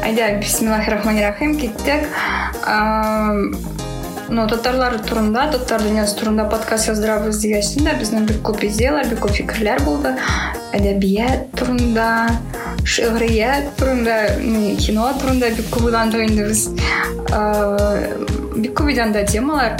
Айда, бисмиллахиррахманиррахим, кеттік. Татарлар турында, татар дүниясы турында подкаст жаздырабыз дегеншін да, біздің бек көп идеялар, бек көп фикірлер болды. Әдебият турында, шиғрият турында, кино турында бек көп ойландық енді біз. Бек көп идеяда темалар.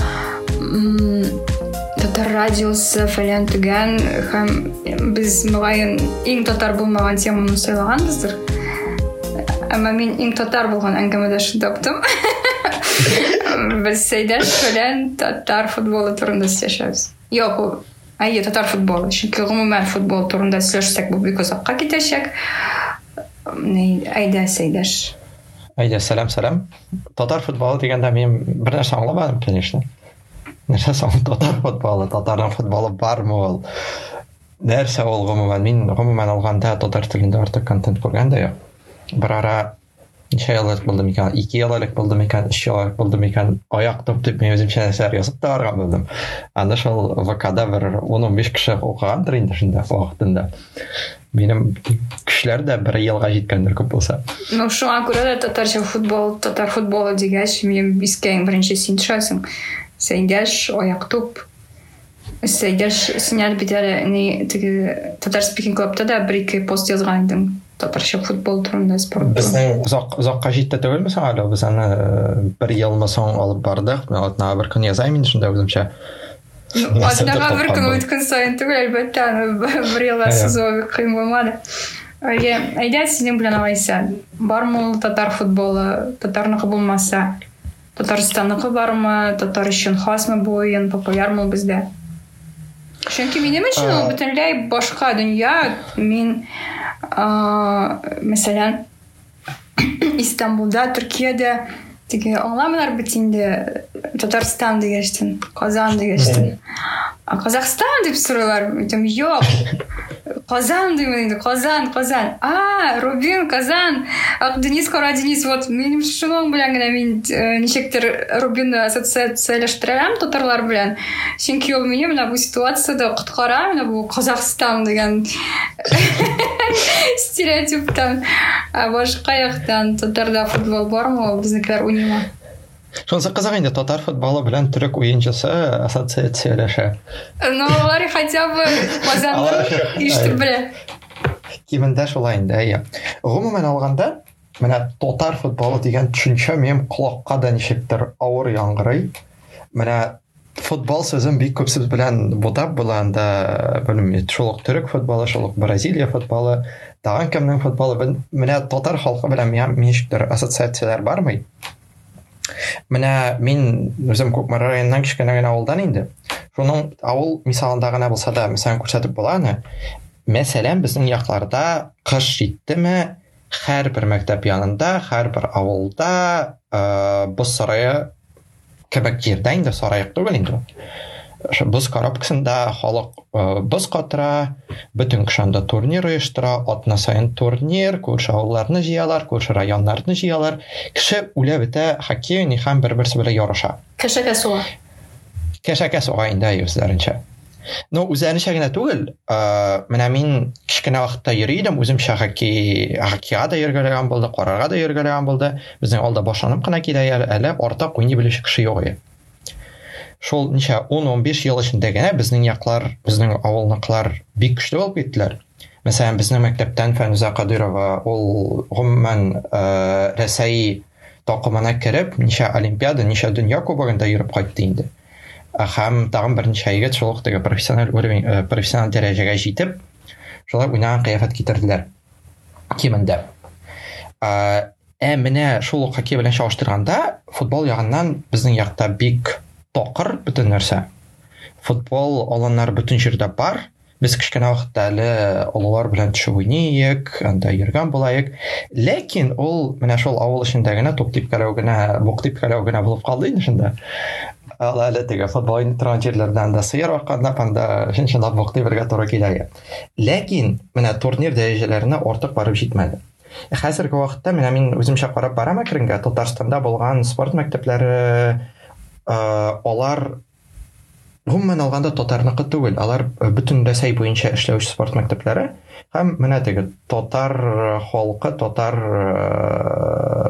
Татар радиосы фәлен түген, һәм біз мұғайын ең татар болмаған теманы сайлағанбыздыр. Әмі мен ең татар болған әңгімеде шыдаптым. Біз Сейдаш фәлен татар футболы турында сөйлесеміз. Жоқ, татар футболы. Чөнки гомумән футбол турында сөйлесек, бұл бик ұзаққа кетешек. Айда, Сейдаш. Айда, сәлем. Татар футболы дегенде мен бір нәрсе аңламадым, конечно. Нәрсе татар футболы, татардың футболы бармы ол? Нәрсе ол гомумән? Мен гомумән алғанда татар тілінде артық контент көргенде жоқ. Бір ара неше еллік болдым екен, 2 еллік болдым екен, 3 еллік болдым екен, аяқ топ мен өзімше нәрселер жазып та барған болдым. Анда сол ВК-да бір 10-15 кіші оқығандыр енді шында уақытында. Менің кішілер де бір елға жеткендер көп болса. Шуңа көрі де татар футболы дегеш, мен бискейін бірінші сен тұшасың. Сейдеш, аяқ топ. Сейдеш, сен әлбетері татар спикинг клубта да 1-2 пост жазған едім. Татарша футбол турында спорт. Біздің ұзаққа жетті түгілміз әлі? Біз аны бір елма соң алып бардық. Мен атына бір күн yazайын шында өзімше. Атынаға бір күн өткін сайын түгіл, әлбәтті бір елға сызуы қиын болмады. Айда сенің білен ағайса, бар мұл татар футболы, татарнықы болмаса, Татарстаннықы бар ма, татар үшін хас ма бойын, популяр ма бізде? Чөнки минем өчен ул бөтенләй башка дөнья. Мин мәсәлән Истанбулда, Төркиядә теге аңламалар бит инде Татарстан дигәчтен, Казан дигәчтен. Казахстан дип сорыйлар. Әйтәм, юк. Казан димән инде, Казан. Рубин, Казан. Денис Кара Денис, вот минем шуның белән генә мин ничектер Рубинны ассоциацияләштерәм татарлар белән. Чөнки ул мине менә бу ситуациядә коткара, менә бу Казахстан дигән стереотиптан. Башка яктан татарда футбол бармы, безнекеләр уйныймы? Шунысы қызық енді, татар футболы білән түрік ойыншысы ассоциациялаша. Олар хотя бы Казанның ишетеп белә. Кимендә шулай инде, иә. Гомумән алганда, менә татар футболы дигән төшенчә минем колакка да ничектер авыр яңгырый. Менә футбол сүзен бик күп сүз белән будап була анда, белмим, шулык түрік футболы, шулык Бразилия футболы, тагын кемнең футболы, менә татар халкы белән ничектер ассоциациялар бармы? Менә мин үзем Күкмар районыннан кичкенә генә авылдан инде. Шуның авыл мисалында гына булса да, мәсәлән, күрсәтеп була аны. Мәсәлән, безнең якларда кыш җиттеме, һәрбер мәктәп янында, һәрбер авылда боз сарае кебек җирдә инде, сарай түгел инде. Боз коробкасында халык боз катыра, бөтен кышанда турнир оештыра, атна сайын турнир, күрше авылларны җыялар, күрше районнарны җыялар. Кеше үлә бетә хоккей һәм бер-берсе белән яраша. Кешәкә суга. Кешәкә суга инде үзләренчә. Үзләренчә генә түгел, менә мин кичкенә вакытта йөридем, үземчә хоккейга да йөргәләгән булды, карарга да йөргәләгән булды. Безнең алда башланып кына киләләр, әле артык уйный белүче кеше юк иде. Шул ничә 10-15 ел эчендә генә безнең яклар, безнең авылныкылар бик көчле булып киттеләр. Мәсәлән, безнең мәктәптән Фәнүзә Кадырова ул гомумән Рәсәй такымына кереп, ничә олимпиада, ничә дөнья кубогында йөреп кайтты инде. Һәм тагын берничә егет шул теге профессиональ дәрәҗәгә җитеп, шулай уйнаган кыяфәт китерделәр. Кимендә. Менә шул хоккей белән чагыштырганда, футбол ягыннан безнең якта бик тақыр бөтен нәрсә. Футбол аланнар бөтен җирдә бар. Без кичкенә вакытта әле олылар белән төшеп уйныйк, анда йөргән булайык. Ләкин ул менә шул авыл эчендә генә туп типкәләү генә булып калды инде шунда. Әле теге футбол торган җирләрдән дә сыер вакытында панда шунчалап вакыты бергә туры килә. Ләкин менә турнир дәрәҗәләренә артык барып җитмәде. Хәзерге вакытта мин үземчә карап барам әкренгә Татарстанда булган спорт мәктәпләре алар гомумән алганда татарныкы түгел, алар бөтен Рәсәй буенча эшләүче спорт мәктәпләре һәм менә теге татар халкы, татар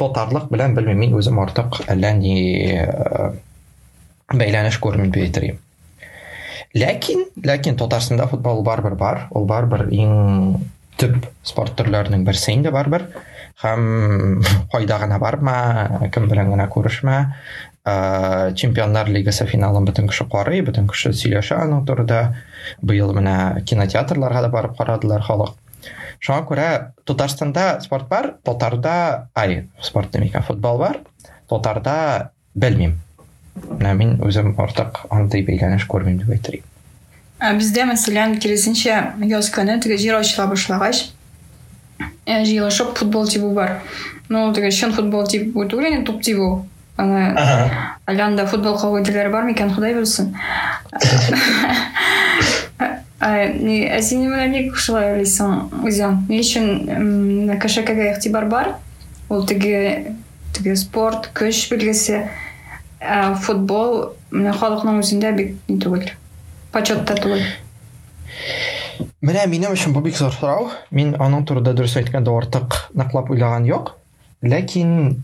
тотарлык белән белмим, мин үзем артык әллә ни бәйләнеш күрмим дип әйтергә. Ләкин Татарстанда футбол барбер бар. Ул барбер иң төп спорт төрләренең берсе инде барбер. Һәм кайда гына барма, кем белән генә күрешмә. Чемпионнар лигасы финалын бөтен кеше карый, бөтен кеше сөйләшә аның турында. Быел менә кинотеатрларга да барып карадылар халык. Шуңа күрә Татарстанда спорт бар, Татарда спорт демәкән, футбол бар, Татарда белмим. Мин үзем артык андый бәйләнеш күрмим дип әйтергә. Бездә мәсәлән киресенчә яз көне теге җир ачыла башлагач, җыелышып футбол тибу бар. Ну, теге чын футбол тибу түгел, топ тибу. Аланда футбол кагыйдәләре бар микән, Ходай белсен. Син менә ник шулай уйлыйсың үзең? Ни өчен кешегә игътибар бар? Ул теге спорт, көч билгесе, футбол менә халыкның үзендә бик түгел. Почетта түгел. Менә минем өчен бу бик зур сорау. Мин аның турында дөрес әйткәндә артык наклап уйлаган юк. Ләкин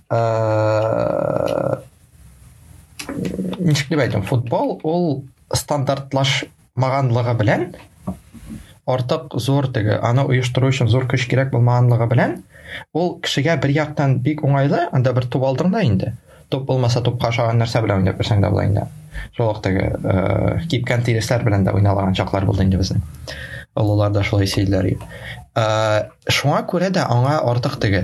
ничек дип әйтим, футбол ул стандартлашмаганлыгы белән артык зур теге аны оештыру өчен зур көч кирәк булмаганлыгы белән ул кешегә бер яктан бик уңайлы, анда бер туп алдың да инде. Топ булмаса топка ашаган нәрсә белән уйнап берсәң дә була инде. Шул теге кипкән тиресләр белән дә уйналаган чаклар булды инде безнең. Олылар да шулай сөйләр. Шуңа күрә дә аңа артык теге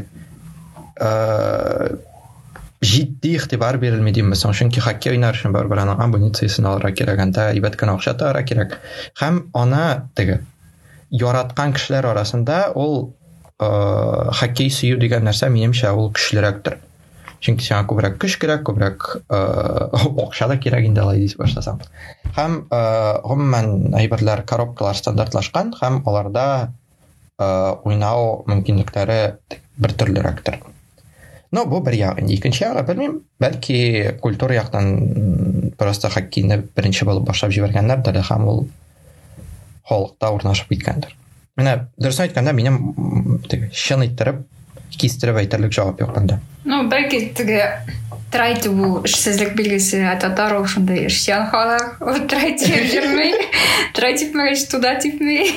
җитди игътибар бирелми димсең, чөнки хоккей уйнар өчен барбер аның абонециясын алырга кирәк, анда әйбәт кенә акча табарга кирәк. Һәм аны теге яраткан кешеләр арасында ул хоккей сөю дигән нәрсә минемчә ул көчлерәктер. Чөнки сиңа күбрәк көч кирәк, күбрәк акча да кирәк инде алай дип башласаң. Һәм гомумән әйберләр коробкалар стандартлашкан, һәм аларда уйнау мөмкинлекләре бер төрлерәктер. Но бу бер ягы. Икенче ягы белмим, бәлки культура яктан просто хоккейны беренче булып башлап җибәргәннәрдер, һәм ул халыкта урнашып киткәндер. Менә дөрес әйткәндә минем чын иттереп кистереп әйтерлек җавап юк монда. Ну, бәлки теге трайды бу эшсезлек билгесе, татар ошондай эшчән халык, трайды йөрмәй, трайды мәгәш туда типмәй.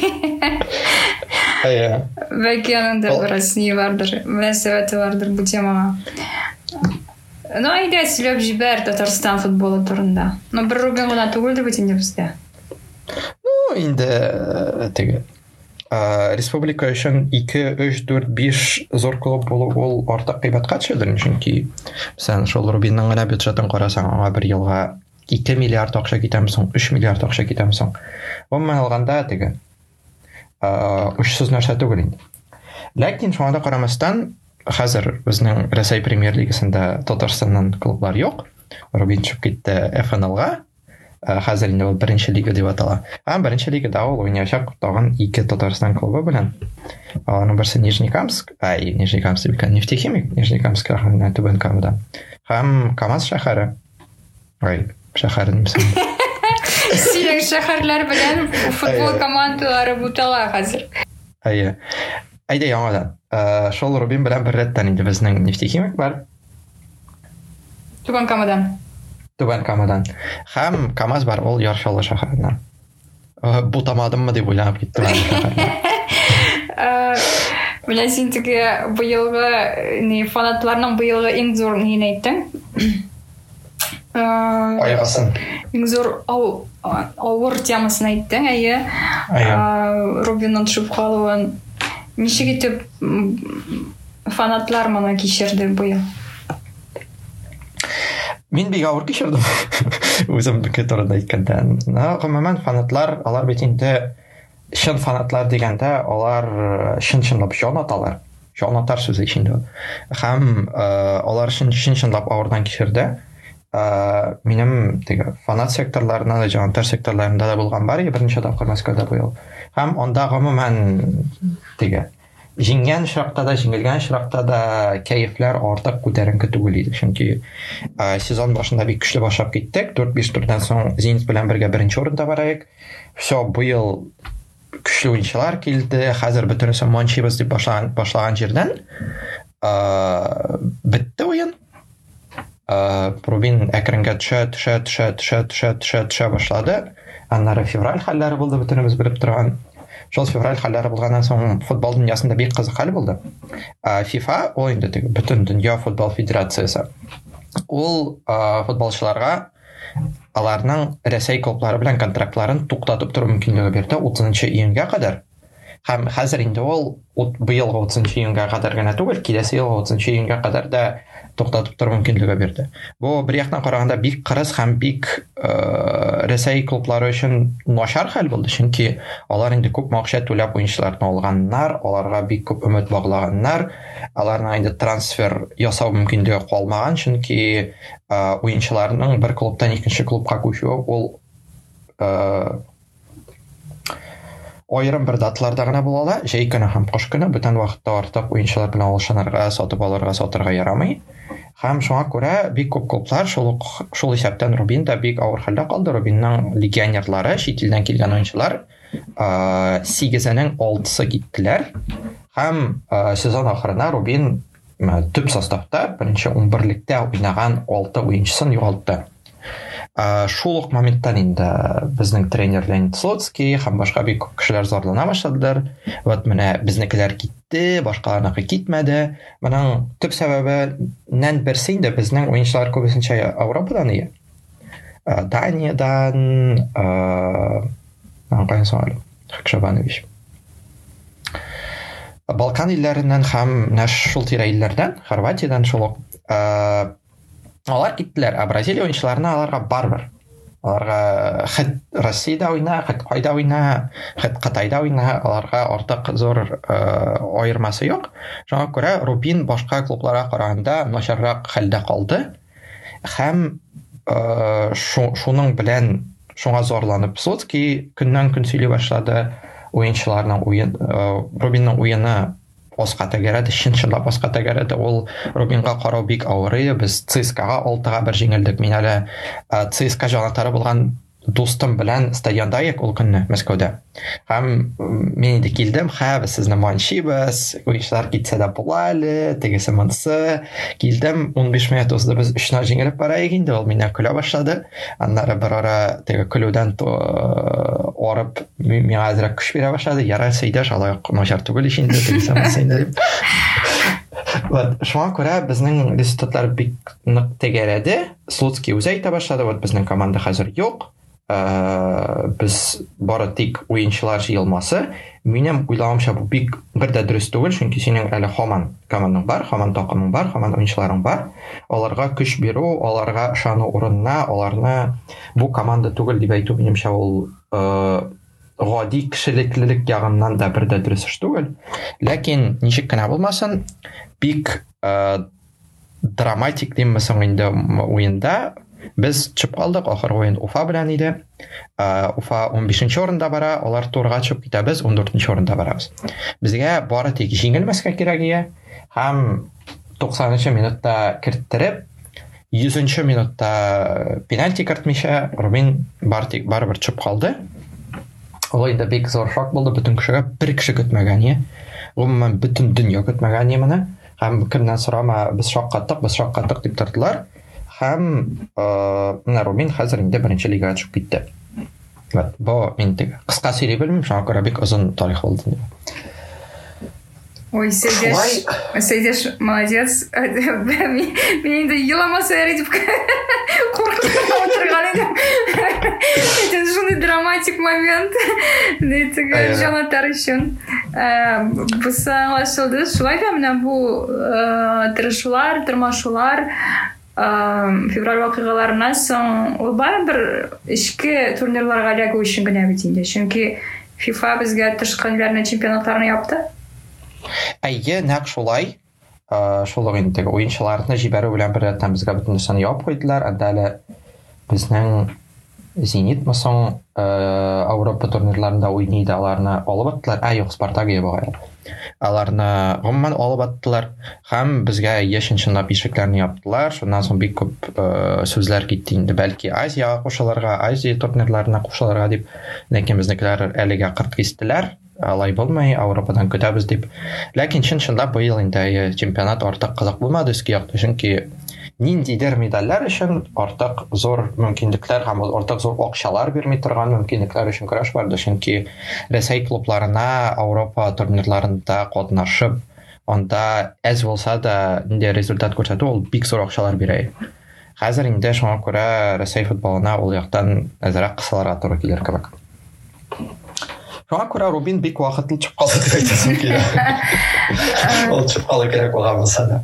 Бәлки анда бераз ни бардыр, мөнәсәбәте бардыр бу темага. Ну, әйдә сөйләп җибәр Татарстан футболы турында. Ну, бер рубин гына түгел дип әйтәм бездә. Ну, инде теге республика өчен 2, 3, 4, 5 зур клуб булу ул артык кыйбатка төшәдер, чөнки сен шул Рубинның гына бюджетын карасаң, аңа бер елга 2 миллиард акча китәме соң, 3 миллиард акча китәме соң. Гомумән алганда теге учсыз нәрсә түгел инде. Ләкин шуңа да карамастан, хәзер безнең Россия премьер лигасында Татарстаннан клублар юк. Рубин чыгып китте ФНЛга. Хәзер инде ул беренче лига дип атала. Һәм беренче лигада ул уйнаячак тагын 2 Татарстан клубы белән. Аның берсе Нижнекамск, Нижнекамск дигән Нефтехимик, Нижнекамск районында Түбән Камада. Һәм Камаз шәһәре. Шәһәрен мисал. Синең шәһәрләр белән футбол командалары бутала хәзер. Әйдә яңадан. Шул Рубин белән бер рәттән инде безнең Нефтехимик бар. Түбән Камадан. Һәм Камаз бар, ул Яршалы шәһәреннән. Бутамадыммы дип уйланып киттем. Менә син теге быелгы фанатларның быелгы иң зур нин әйттең? Айгасын. Иң зур авыр темасын әйттең, Рубинның төшеп калуын. Ничек итеп фанатлар моны кичерде быел? Мин бик авыр кичердем. Үземнеке турында әйткәндә. Гомумән фанатлар, алар бит инде чын фанатлар дигәндә, алар чын-чынлап җан аталар. Җан атар сүзе ичендә. Һәм алар чын-чынлап авырдан кичерде. Минем теге фанат секторларында да, җан атар секторларында да булган бар, берничә тапкыр Москвада быел. Һәм анда гомумән теге җиңгән шракта да, җиңелгән шракта да кәефләр артык күтәренке түгел иде. Чөнки сезон башында бик көчле башлап киттек. 4-5 турдан соң Зенит белән бергә беренче урында барайык. Всё, быел көчле уенчылар килде. Хәзер бөтенесе манчибыз дип башлаган җирдән бетте Рубин әкренге төшә башлады. Аннары февраль хәлләре булды, бөтенебез белеп торган. Шул февраль хәлләре булганнан соң футбол дөньясында бик кызык хәл булды. FIFA, ул инде бөтен дөнья футбол федерациясе. Ул футболчыларга аларның Рәсәй клублары белән контрактларын туктатып тору мөмкинлеге бирде 30 июньгә кадәр. Һәм хәзер инде ул быелгы 30 июньгә кадәр генә түгел, киләсе елгы 30 июньгә кадәр да туктатып тору мөмкинлеге бирде. Бу бер яктан караганда бик кырыс һәм бик Рәсәй клублары өчен начар хәл булды, чөнки алар инде күп акча түләп уенчыларны алганнар, аларга бик күп өмет баглаганнар, аларның инде трансфер ясау мөмкинлеге калмаган, чөнки уенчыларның бер клубтан икенче клубка күчүе ул айрым бер даталарда гына була ала, җәй көне һәм кыш көне бүтән вакытта артык уенчылар белән алышынырга, сатып алырга, сатырга ярамый. Һәм шуңа күрә бик күп клублар шул исәптән Рубин да бик авыр хәлдә калды. Рубинның легионерлары, чит илдән килгән уенчылар 8-нең 6-сы киттеләр. Һәм сезон ахырына Рубин төп составта беренче 11-лектә уйнаган 6 уенчысын югалтты. Шул ук моменттан инде безнең тренер Леонид Слуцкий һәм башка бик күп кешеләр зарлана башладылар. Вот менә безнекеләр китте, башкаларныкы китмәде. Моның төп сәбәбеннән берсе инде безнең уенчылар күбесенчә Европадан ия. Даниядан, Хакшабанович. Балкан илләреннән һәм шул тирә илләрдән, Хорватиядан шул ук алар киттеләр, Бразилия уенчыларына аларга барбер. Аларга Россиядә уйна, Кытайда уйна, Кытайда уйна, аларга артык зур аермасы юк. Шуңа күрә Рубин башка клубларга караганда начаррак хәлдә калды. Һәм шуның белән шуңа зарланып Слуцкий көннән-көн сөйли башлады. Уенчыларның Рубинның уены Оска тәгәрәде, чынлап Оска тәгәрәде. Ул Рубинга карау бик авыр. Без ЦСКАга 6-1 җиңелдек. Мин әле ЦСКА җанатары булган дустым белән стадионда ек ул көнне Мәскәүдә. Һәм мин инде килдем, без сезне манчибез, уенчылар китсә дә була әле, тегесе монысы. Килдем, 15 минут узды, без 3-0 җиңелеп барайык инде. Ул мине көлә башлады. Аннары бер ара теге көлүдән арып, миңа әзрәк көч бирә башлады. Ярар, Сәйдәш, алай начар түгел ич инде, тегесе монысы инде дип. Вот, шуңа күрә безнең результатлар бик нык тәгәрәде. Слуцкий үзе әйтә башлады, вот безнең команда хәзер юк. Без бары тик уенчылар җыелмасы. Минем уйлавымча бу бик бер дә дөрес түгел, чөнки синең әле һаман командаң бар, һаман такымың бар, һаман уенчыларың бар. Аларга көч бирү, аларга ышану урынына, аларны бу команда түгел дип әйтү минемчә ул гади кешелеклелек ягыннан да бер дә дөрес түгел. Ләкин ничек кенә булмасын, бик драматик диммесең инде уенда без чыгып калдык. Ахыр уен Уфа белән иде. Уфа 15-нче орында бара, алар турга чыгып китә, без 14-нче орында барабыз. Безгә бары тик җиңелмәскә кирәк иде. Һәм 90-нчы минутта керттереп, 100-нче минутта пенальти кертмичә Рубин барыбер чыгып калды. Ул инде бик зур шок булды бөтен кешегә, бер кеше көтмәгән. Гомумән бөтен дөнья көтмәгән моны. Һәм кемнән сорама, без шаккаттык дип тордылар. Һәм Рубин хәзер инде беренче лигага чыгып китте. Вот, бу инде кыска сөйли белмим, шуңа күрә бик озын тарих булды. Ой, Сәйдәш, молодец. Мин инде еламаса ярый дип куркып отырган идем. Это шундый драматик момент. Теге җанатар өчен. Бусы аңлашылды. Шулай да менә бу тырышулар, тырмашулар февраль вакыйгаларыннан соң ул барыбер эчке турнирларга эләгү өчен генә бит инде. Чөнки FIFA безгә тышкы илләрнең чемпионатларын япты. Әйе, нәкъ шулай. Шул инде уенчыларны җибәрү белән бер рәттән безгә бөтен нәрсәне яп куйдылар. Анда әле безнең Зенит мосын Европа турнирларында уйный да аларны алып аттылар. Юк, Спартакия багай. Аларны гомумән алып аттылар. Һәм безгә яшенчынлап ишекләрне яптылар. Шуннан соң бик күп сүзләр китте инде. Бәлки Азия кушылырга, Азия турнирларына кушылырга дип. Ләкин безнекеләр әлегә кырт кистеләр. Алай булмай, Европадан көтәбез дип. Ләкин чынлап быел инде чемпионат артык кызык булмады өскә якты, чөнки ниндидер медальләр өчен артык зур мөмкинлекләр һәм артык зур акчалар бирми торган мөмкинлекләр өчен көрәш барды, чөнки Рәсәй клубларына Европа турнирларында катнашып, анда әз булса да инде результат күрсәтү ул бик зур акчалар бирә. Хәзер инде шуңа күрә Рәсәй футболына ул яктан әзрәк кысаларга туры килер кебек. Шуңа күрә Рубин бик вакытлы чыгып калды дип әйтәсем килә. Ул чыгып калу кирәк булган булса да.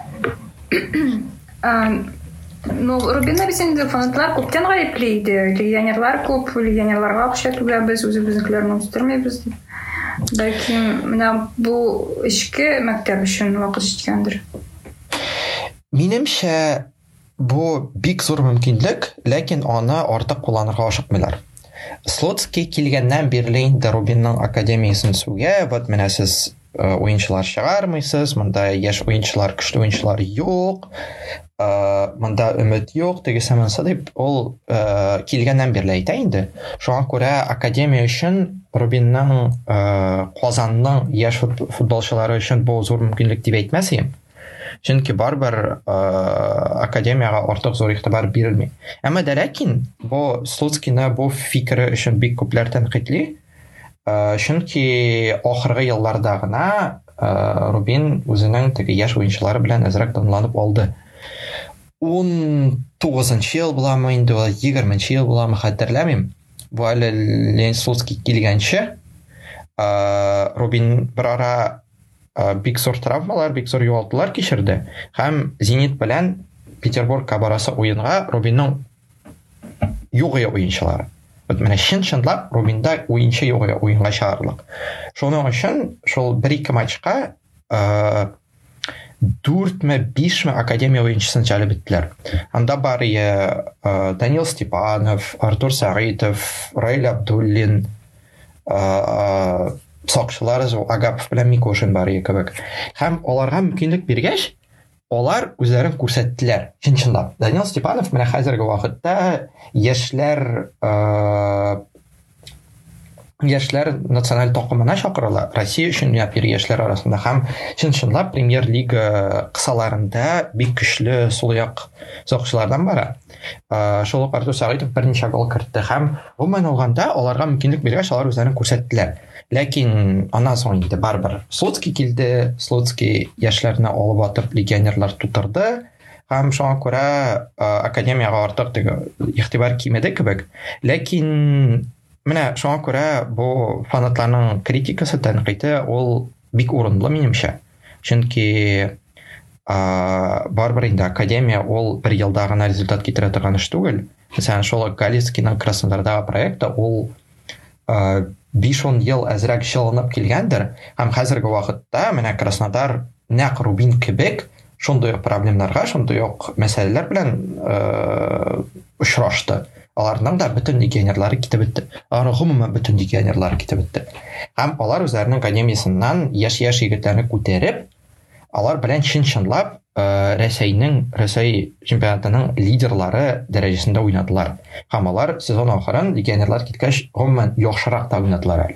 Ну, Рубинна бит инде фанатлар күптән гаеплейде. Легионерлар күп, легионерларга акча түләбез, үзебезнекеләрне үстермәйбез дип. Бәлки, менә бу эшкә мәктәп өчен вакыт җиткәндер. Минемчә, бу бик зур мөмкинлек, ләкин аны артык кулланырга ашыкмыйлар. Слоцкий килгәннән бирле инде Рубинның академиясын сүгә, вот менә сез уенчылар чыгармыйсыз, монда яшь уенчылар, көчле уенчылар юк, монда өмет юк, тегесәмәнсә дип ул килгәннән бирле әйтә инде. Шуңа күрә академия өчен Рубинның Казанның яшь футболчылары өчен бу зур мөмкинлек дип әйтмәсем. Чөнки барбер академияга артык зур игътибар бирелми. Әмма дә ләкин бу Слуцкийны бу фикере өчен бик күпләр тәнкыйтьли. Чөнки ахыргы елларда гына Рубин үзенең теге яшь уенчылары белән әзрәк данланып алды. 19-нчы ел буламы инде, 20-нчы ел буламы хәтерләмим. Бу әле Ленин Слуцкий килгәнче Рубин бер ара бик зур травмалар, бик зур югалтулар кичерде. Һәм Зенит белән Петербургка барасы уенга Рубинның югыя уенчылары. Вот менә чын-чынлап Рубинда уенчы югыя уенга чыгарлык. Шуның өчен шул 1-2 матчка 4-5 академия уенчысын җәлеп иттеләр. Анда бар Данил Степанов, Артур Сагитов, Раил Абдуллин, сакчылар Агапов белән Микошин бар кебек. Һәм аларга мөмкинлек биргәч, алар үзләрен күрсәттеләр. Чын-чынлап. Данил Степанов менә хәзерге вакытта яшьләр националь такымына чакырыла. Россия өчен япир яшьләр арасында һәм чын-чынлап Премьер-лига кысаларында бик көчле сулаяк сакчылардан бара. Шул ук Артур Сагитов берничә гол кертте һәм гомумән алганда аларга мөмкинлек биргәч, алар үзләрен күрсәттеләр. Ләкин аннан соң инде барбер Слуцкий килде, Слуцкий яшьләрне алып атып легионерлар тутырды һәм шуңа күрә академияга артык теге игътибар кимәде кебек. Ләкин менә шуңа күрә бу фанатларның критикасы, тәнкыйте ул бик урынлы минемчә. Чөнки барбер инде академия ул бер елда гына результат китерә торган эш түгел. Мәсәлән, шул Галицкийның Краснодардагы проекты ул 5-10 ел әзрәк җылынып килгәндер, һәм хәзерге вакытта менә Краснодар нәкъ Рубин кебек шундый проблемаларга, шундый мәсьәләләр белән очрашты. Аларның да бөтен легионерлары китеп бетте. Аларның гомумән бөтен легионерлары китеп бетте. Һәм алар үзләренең академиясыннан яшь егетләрне күтәреп, алар белән чын-чынлап Рәсәй чемпионатының лидерлары дәрәҗәсендә уйнадылар. Һәм алар сезон ахырын легионерлар киткәч гомумән яхшырак та уйнадылар.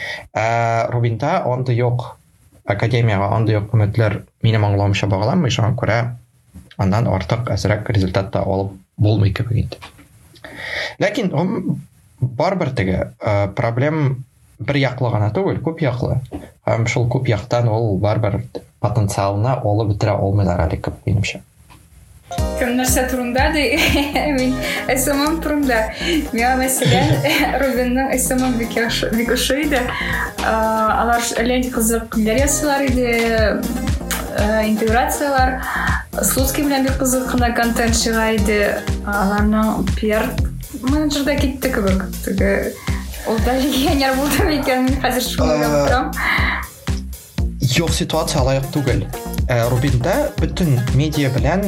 Рубинда анда юк, академияга анда юк өметләр минем аңлавымча багланмый, шуңа күрә андан артык әзрәк результат та алып булмый кебек инде. Ләкин барбер теге проблем бер яклы гына түгел, күп яклы. Һәм шул күп яктан ул барбер потенциалны алып бетерә алмыйлар әле күп минемчә. Кем нәрсә турында ди? Мин СММ турында. Миңа мәсәлән Рубинның СММ бик ошый иде. Алар әле кызык ясыйлар иде, интеграциялар. Слуцкий белән бик кызык кына контент чыга иде. Аларның пиар менеджерда китте кебек. Теге ул да легионер булды микән? Хәзер шуны яптым. Юк, ситуация лайык түгел. Рубинда бөтен медиа белән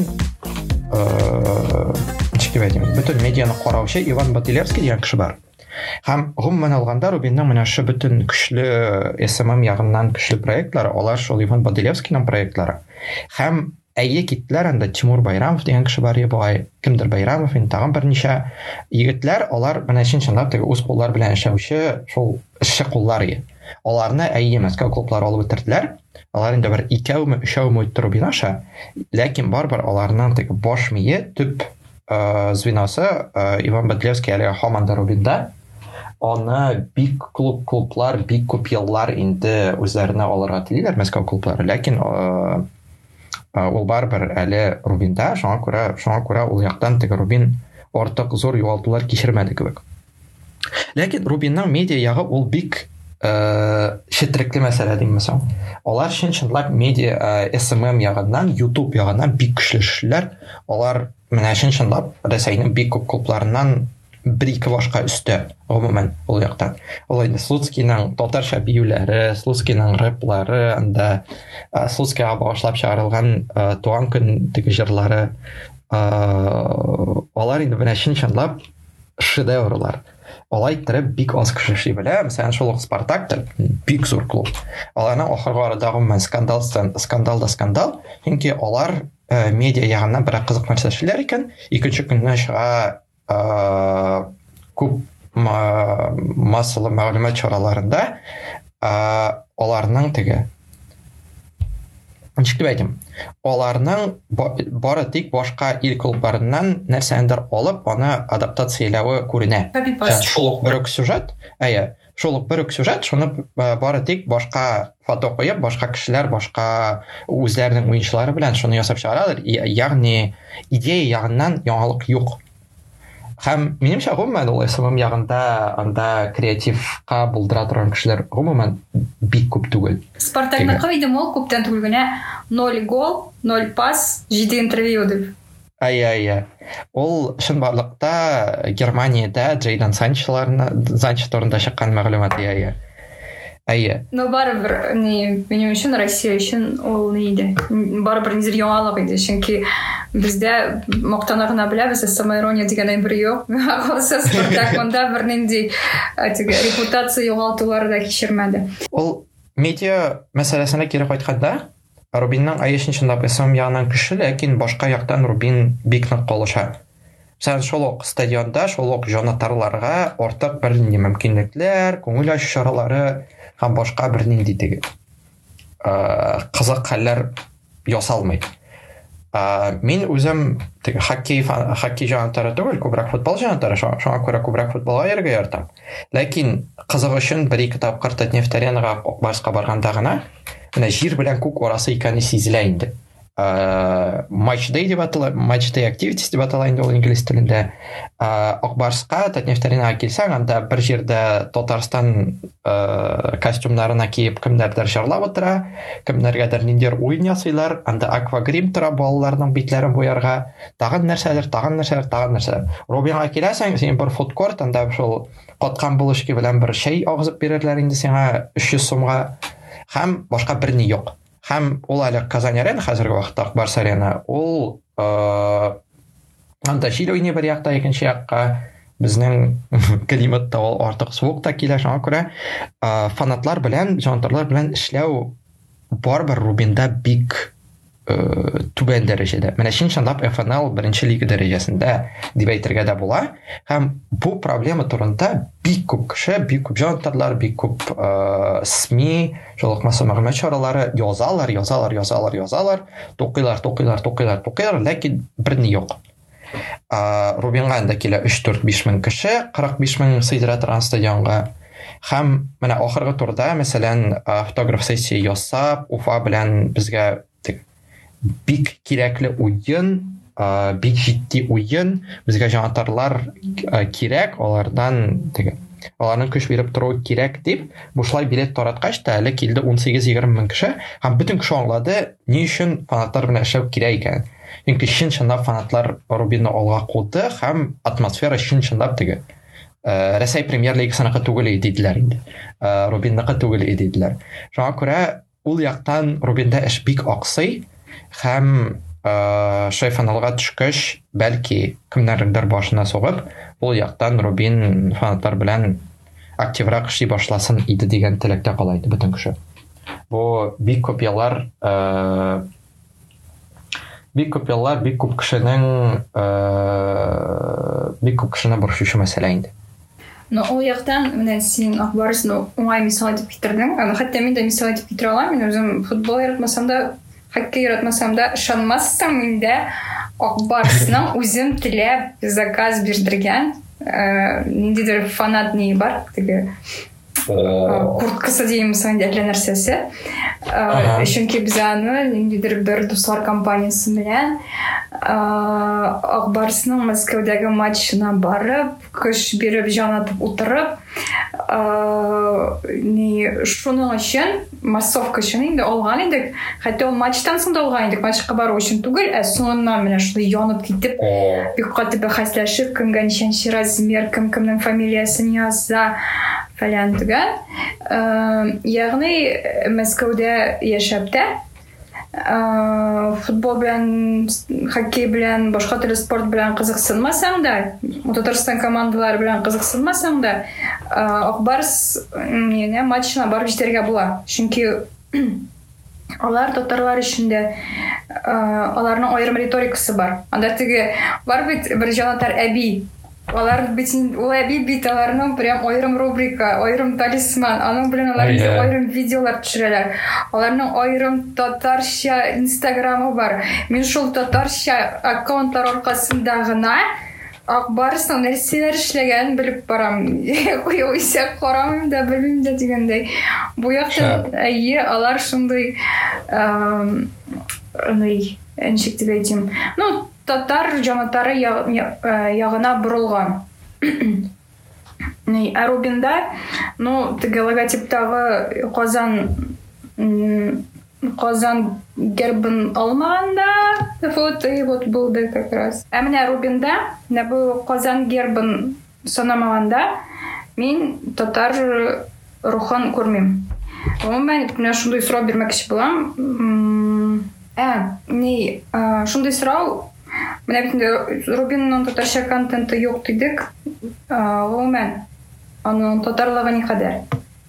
бөтен медианы караучы Иван Батилевский дигән кеше бар. Һәм гомумән алганда Рубинның менә шу бөтен көчле СММ ягыннан көчле проектлары, алар шул Иван Батилевскийның проектлары. Һәм әйе киттеләр, анда Тимур Байрамов дигән кеше бар иде, кемдер Байрамов, тагын берничә егетләр, алар менә чын-чынлап теге үз куллар белән эшләүче шул эшче куллар иде. Аларны Мәскәү клублары алып бетерделәр. Алар инде бер 2-3 үтте Рубин аша, ләкин барбар аларның теге баш мие төп звеносы Иван Бадлевский әле һаман да Рубинда. Аны бик клублар, бик күп еллар инде үзләренә алырга телиләр Мәскәү клублары, ләкин ул барбар әле Рубинда, шуңа күрә ул яктан теге Рубин артык зур югалтулар кичермәде кебек. Ләкин Рубинның медиа ягы ул бик четерекле мәсьәлә димәсәң. Алар чынлап медиа SMM ягыннан, YouTube ягыннан бик көчле эшләр. Алар менә чынлап Рәсәйнең бик күп клубларыннан 1-2 башка өстә гомумән ул яктан. Ул инде Слуцкийның татарча биюләре, Слуцкийның рэплары, анда Слуцкийга багышлап чыгарылган туган көн теге җырлары, алар инде менә чынлап шедеврлар. Алай иттереп бик аз кеше эшли белә. Мәсәлән, шул Спартак бик зур клуб. Аларның ахыргы арада гомумән скандал. Чөнки алар медиа ягыннан бер кызык нәрсә эшләр икән. Икенче көннән чыга күп массалы мәгълүмат чараларында аларның теге ничек дип әйтим, аларның бары тик башка ил клубларыннан нәрсәндер алып, аны адаптацияләве күренә. Шул ук бер сюжет, шуны бары тик башка фото куеп, башка кешеләр, башка үзләренең уенчылары белән шуны ясап чыгаралар. Ягъни идея ягыннан яңалык юк. Һәм минемчә гомумән ул SMM ягында анда креативка булдыра торган кешеләр гомумән бик күп түгел. Спартакны кыйдым ул күптән түгел генә 0 гол, 0 пас, 7 интервью дип. Ул чынбарлыкта Германиядә Джейдан Санчо турында чыккан мәгълүмат Но барыбер минем өчен Россия өчен ул иде. Барыбер нидер яңалык иде, чөнки бездә мактанырга беләбез, самоирония дигән бер юк. Калса Спартак монда бер нинди репутация югалтулары да кичермәде. Ул медиа мәсьәләсенә кире кайтканда, Рубинның айышынчында SMM ягынан көчле, ләкин башка яктан Рубин бик нык калыша. Сән шул ук стадионда, шул ук җанатарларга артык бер нинди мөмкинлекләр, күңел ачу чаралары һәм башка бер нинди теге кызык хәлләр ясалмый. Мин үзем теге хоккей җанатары түгел, күбрәк футбол җанатары, шуңа күрә күбрәк футболга йөрергә яратам. Ләкин кызык өчен 1-2 тапкыр Татнефть-Аренага Барска барганда гына менә җир белән күк арасы икәнне сизелә инде. Match day activities дип атала инде ул инглиз телендә. Акбарска Татнефть-Аренага килсәң, анда бер җирдә Татарстан костюмнарына киеп кемнәрдер җырлап утыра, кемнәргәдер ниндидер уен ясыйлар, анда аквагрим тора балаларның битләрен буярга, тагын нәрсәләр. Рубинга киләсәң, син бер фудкорт, анда шул каткан булышки белән бер чәй агызып бирерләр инде сиңа 300 сумга, һәм башка берни юк. Һәм ул әле Казан-Арена хәзерге вакытта Барс-Арена, ул анда җил уйный бер якта, икенче якка безнең климатта ул артык суык та килә, шуңа күрә фанатлар белән, җанатарлар белән эшләү барбер Рубинда бик түбән дәрәҗәдә. Менә чынлап ФНЛ 1-нче лига дәрәҗәсендә дип әйтергә дә була. Һәм бу проблема турында бик күп кеше, бик күп җанатарлар, бик күп СМИ, шулыкмасы мәгълүмат чаралары язалар, тукыйлар, ләкин берни юк. Рубинга анда килә 3-4-5 мең кеше, 45 мең сыйдыра торган стадионга. Һәм менә ахыргы турда, мәсәлән, фотограф сессия ясап, Уфа белән безгә бик кирәкле уен, бик җитди уен, безгә җанатарлар кирәк, аларның көч биреп тору кирәк дип, бушлай билет тараткач та әле килде 18-20 мең кеше, һәм бөтен кеше аңлады, ни өчен фанатлар белән эшләү кирәк икән. Чөнки чынлап фанатлар Рубинны алга куды һәм атмосфера чынлап теге Рәсәй премьер лигасыныкы түгел иделәр инде. Рубинныкы түгел иделәр. Шуңа күрә ул яктан Рубинда эш бик аксый. Һәм финалга төшкәч, бәлки кемнәрдер башына сугып, ул яктан Рубин фанатлар белән активрак эшли башласын иде дигән теләктә кала иде бөтен кеше. Бу бик күп еллар, бик күп кешенең борчушы мәсьәлә инде. Но ол яқтан менә син Акбарсын уңай мисал итеп китердең. Хәтта мин дә мисал итеп китерә алам. Мин үзем футбол яратмасам да, хоккей яратмасам да, ышанмассың миндә Акбарсның үзем теләп заказ бирдергән ниндидер фанат не бар, теге курткасы дейміз инде әллә нәрсәсе. Чөнки без аны ниндидер бер дуслар компаниясы белән Акбарсның Мәскәүдәге матчына барып, көч биреп, җан атып утырып, шуның өчен массовка өчен инде алган идек. Хәтта ул матчтан соң да алган идек, матчка бару өчен түгел, соңыннан менә шулай янып китеп, бик каты бәхәсләшеп, кемгә ничәнче размер, кемнең фамилиясын яза фәлән түгел. Ягъни Мәскәүдә яшәп тә футбол белән, хоккей белән, башка төрле спорт белән кызыксынмасаң да, Татарстан командалары белән кызыксынмасаң да, Акбарс матчына барып җитәргә була. Чөнки алар татарлар өчен аларның аерым риторикасы бар. Анда теге бар бит бер җанатар әби. Алар бит ул әби бит аларның прям аерым рубрика, аерым талисман. Аның белән алар аерым видеолар төшерәләр. Аларның аерым татарча инстаграмы бар. Мин шул татарча аккаунтлар аркасында гына Акбарсның нәрсәләр эшләгәнен белеп барам. Куйса карамыйм да, белмим дә дигәндәй. Бу яктан алар шундый ничек дип әйтим. Татар җанатары ягына бурылган. Рубинда, теге логотиптагы Казан гербын алмаганда, вот булды как раз. Менә Рубинда, бу Казан гербын санамаганда, мин татар рухын күрмим. Мен менә шундый сорау бирмәкче булам. Шундый сорау. Менә бит Рубинның татарча контенты юк дидек. Гомумән аның татарлыгы ни кадәр?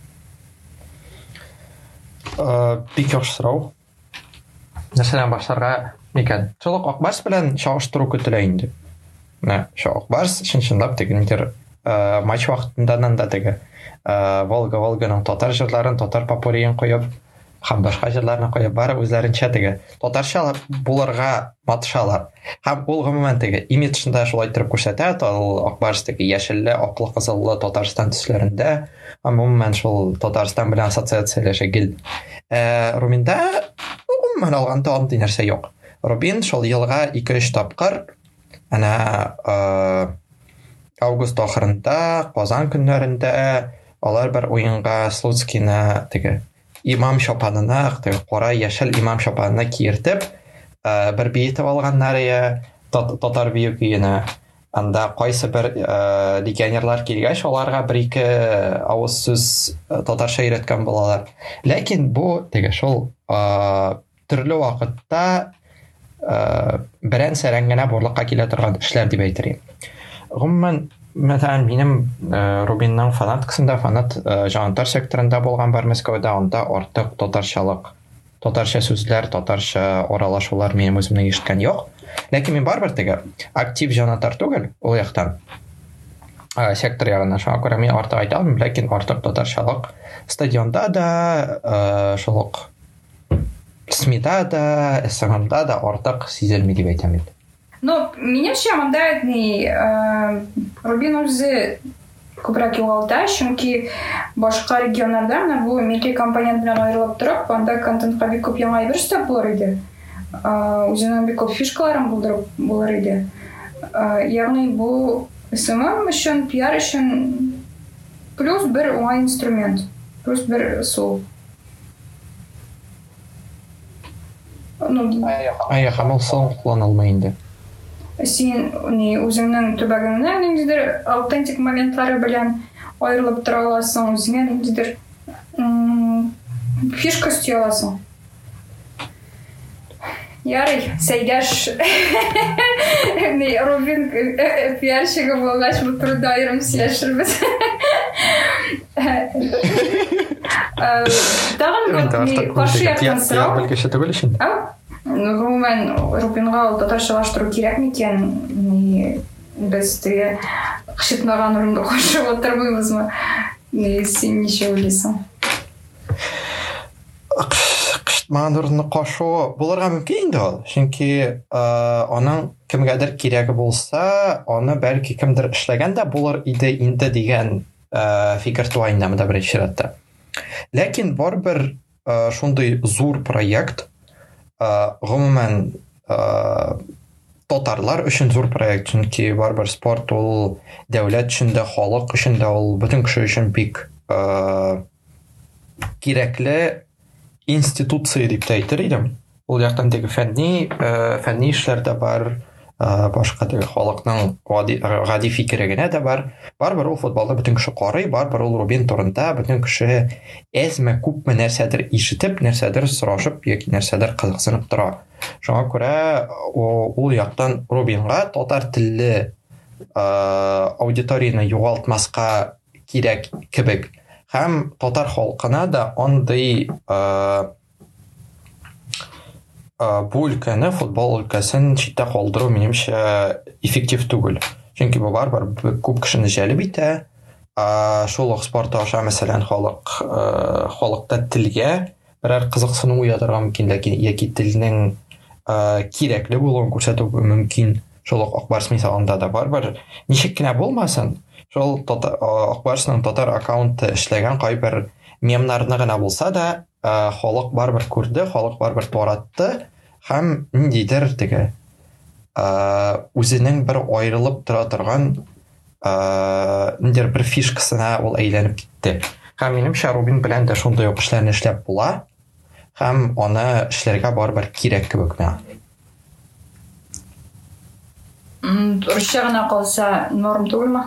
Бик яхшы сорау. Нәрсәдән башларга микән? Шул Акбарс белән чагыштыру көтелә инде. Шул Акбарс чынлап тегендер матч вакытында да теге Волга-Волганың татар җырларын, татар попуриен куеп, һәм башка җырларны куеп барып үзләренчә теге татарча булырга матышалар. Һәм ул гомумән теге имиджында шулай итеп күрсәтә, ул Акбарс теге яшелле, аклы, кызыллы Татарстан төсләрендә, гомумән шул Татарстан белән ассоциацияләшә гел. Рубинда гомумән алганда андый нәрсә юк. Рубин шул елга 2-3 тапкыр август ахырында, Казан көннәрендә алар бер уенга Слуцкийны теге имам шапанына, кара яшел имам шапанына киертеп, бер биетеп алганнар татар бию көенә. Анда кайсы бер легионерлар килгәч, аларга бер-ике авыз сүз татарча өйрәткән булалар. Ләкин бу теге шул төрле вакытта берән-сәрән генә бурлыкка килә торган эшләр дип әйтергә. Гомумән, мәсәлән, минем Рубинның фанаткасында, фанат җанатар секторында булган бар Мәскәүдә, анда артык татарчалык, татарча сүзләр, татарча аралашулар минем үземнең ишеткән юк. Ләкин мин барбер теге актив җанатар түгел, ул яктан. Сектор ягына шуңа күрә мин артык әйтә алмыйм, ләкин артык татарчалык стадионда да, шулык СМИда да, СММда да артык сизелми дип әйтәм. Минемчә, монда Рубин үзе күбрәк югалта, чөнки башка регионнарда бу милли компонент белән аерылып торып, анда контентка бик күп яңа әйбер өстәп булыр иде. Үзенең бик күп фишкаларын булыр иде. Ягъни бу СММ өчен, пиар өчен плюс бер уңай инструмент, плюс бер сул. Һәм ул соң кулланылмый инде. Син үзеңнең төбәгеңнән ниндидер аутентик моментлары белән аерылып тора аласың, үзеңә ниндидер фишка өсти аласың. Ярый, Сәйдәш Рубин пиарщигы булгач, бу турыда аерым сөйләшербез. Тагын каршы яктан сорау. Белгече түгел ишин. Гомумән, Рубинга ул татарчалаштыру кирәк микән? Без қышытмаған орынды қосып отырмаймыз ма? Сен неше ойлайсың? Қышытмаған орынды қошу бұларға мүмкін енді ол. Чөнки оның кімгәдір керегі болса, оны бәлки кімдір эшләгән дә булыр иде инде дигән фикер туа инде монда беренче чиратта. Ләкин барбер шундый зур проект, гомумән татарлар өчен зур проект, чөнки барбер спорт ул дәүләт өчен дә, халык өчен дә, ул бөтен кеше өчен бик кирәкле институция дип әйтер идем. Ул яктан теге фәнни эшләрдә бар, башка теге халыкның гади фикере генә дә бар. Барбер ул футболда бөтен кеше карый, барбер ул Рубин турында бөтен кеше әзме күпме нәрсәдер ишетеп, нәрсәдер сорашып яки нәрсәдер кызыксынып тора. Шуңа күрә ул яктан Рубинга татар телле аудиторияны югалтмаска кирәк кебек һәм татар халкына да андый бу өлкәне, футбол өлкәсен читтә калдыру минемчә эффектив түгел. Чөнки бу барбер күп кешене җәлеп итә. Шул ук спорт аша мәсәлән халыкта телгә берәр кызыксыну уятырга мөмкин, ләкин яки телнең кирәкле булуын күрсәтү мөмкин. Шул ук Акбарс мисалында да барбер ничек кенә булмасын, шул Акбарсның татар аккаунты эшләгән кайбер мемнарны гына булса да, халык барбер күрде, халык барбер таратты һәм ниндидер теге үзенең бер аерылып тора торган ниндидер бер фишкасына ул әйләнеп китте. Һәм минемчә Рубин белән дә шундый ук эшләрне эшләп була һәм аны эшләргә барбер кирәк кебек миңа. Русча гына калса норм түгелме?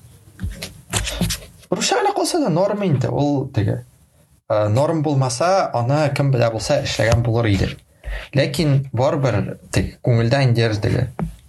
Русча гына калса да норм инде. Ул теге норм булмаса, аны кем белә булса эшләгән булыр иде. Ләкин барбер теге күңелдә индер теге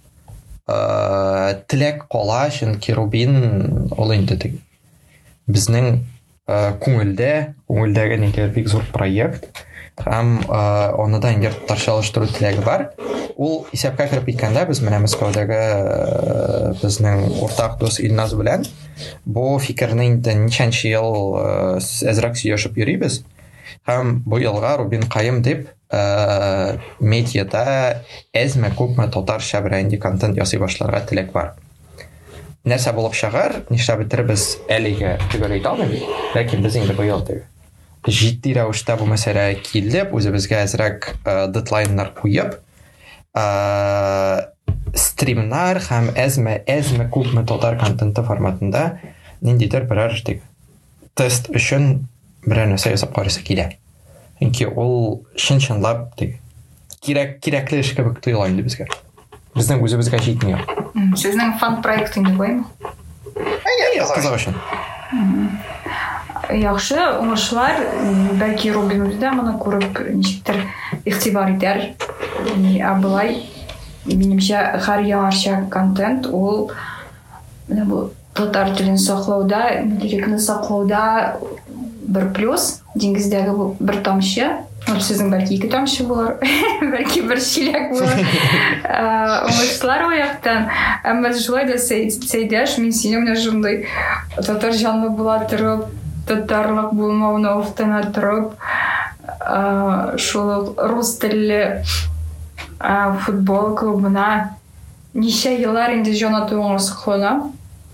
теләк кала, чөнки Рубин ул инде теге безнең күңелдәге ниндидер бик зур проект һәм аны да индер татарчалаштыру теләге бар. Ул исәпкә кереп киткәндә без менә Мәскәүдәге безнең уртак дус Илназ белән бу фикерне инде ничәнче ел әзрәк сөйләшеп йөрибез. Һәм бу елга Рубин Каим дип медиада әзме күпме татарча бренди контент ясый башларга теләк бар. Нәрсә булып чыгар, нишләп бетербез әлегә түгел әйтә алмыйм. Ләкин без инде бу ел җитди рәвештә бу мәсьәлә килеп, үзебезгә әзрәк дедлайннар куеп, стримнар һәм әзме күпме татар контенты форматында ниндидер берәр тест өчен берәр нәрсә ясап карыйсы килә. Чөнки ул чынлап кирәкле эш кебек тоела инде безгә. Безнең үзебезгә җитмәй. Сезнең фан проект инде буймы? Кызык өчен. Яхшы, уңышлар, бәлки Рубин үзе дә моны күреп ничектер игътибар итәр. Абылай минемчә һәр яңарча контент ул менә бу татар телен саклауда, директны саклауда бер плюс, диңгездәге бер тамчы, сезнең бәлки 2 тамчы булыр, бәлки бер чиләк булыр. Уңышлар ояктан, әмма шулай да Сәйдәш, мин сине менә шундый татар җанлы була торып, татарлык булмауны офтана торып, шул рус телле футбол клубына ничә еллар инде җанатуыңа саклана.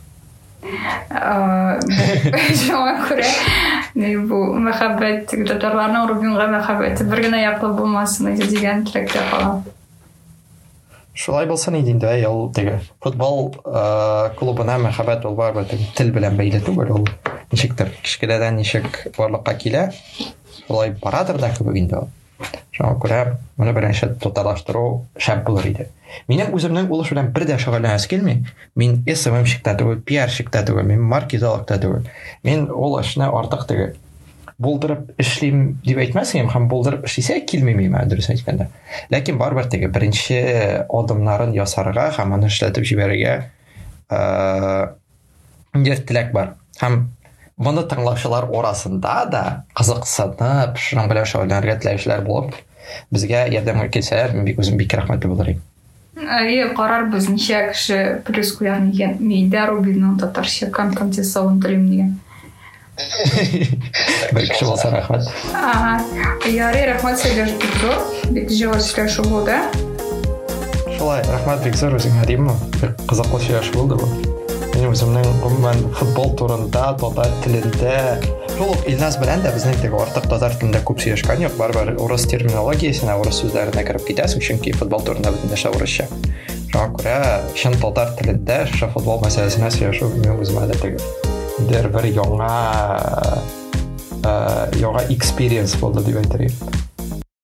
Шуңа күрә бу мәхәббәт, татарларның Рубинга мәхәббәте бер генә яклы булмасын дигән теләктә калам. Шулай булсын инде, ул теге футбол клубына мәхәббәт ул бар, тел белән бәйле түгел, ул ничектер кичкәдән ничек барлыкка килә, шулай барадыр да кебек инде. Шуңа күрә моны беренче татарлаштыру шәп булыр иде. Минем үземнең ул эш белән бер дә шөгыльләнәс килми. Мин SMM-щикта түгел, PR-щикта түгел, мин маркетологта түгел. Мин ул эшне артык теге булдырып эшлим дип әйтмәсәм, һәм булдырып эшлисә килми миңа дөрес әйткәндә. Ләкин барбер теге беренче адымнарын ясарга һәм аны эшләтеп җибәрергә теләк бар. Һәм моны тыңлаучылар арасында да кызыксынып, шуның белән шөгыльләнергә теләүчеләр булып, безгә ярдәм итсәләр, мин бик үзем бик рәхмәтле булыр идем. карарбыз ничә кеше плюс куяр дигән. Миндә Рубинның татарча контент-савын телим дигән. Бер кеше булса рәхмәт. Ярый, рәхмәт сезгә зур. Бик җавап сөйләшү булды. Шулай, рәхмәт бик зур үзеңә димме? Бик кызыклы сөйләшү булды бу. Мин үземнең гомумән футбол турында, татар телендә, шул Илназ белән дә безнең теге артык татар телендә күп сөйләшкән юк, барыбер урыс терминологиясенә, урыс сүзләренә кереп китәсең, чөнки футбол турында бөтен нәрсә урысча. Шуңа күрә чын татар телендә шушы футбол мәсьәләсенә сөйләшү мин үземә дә теге бер яңа experience булды дип әйтергә.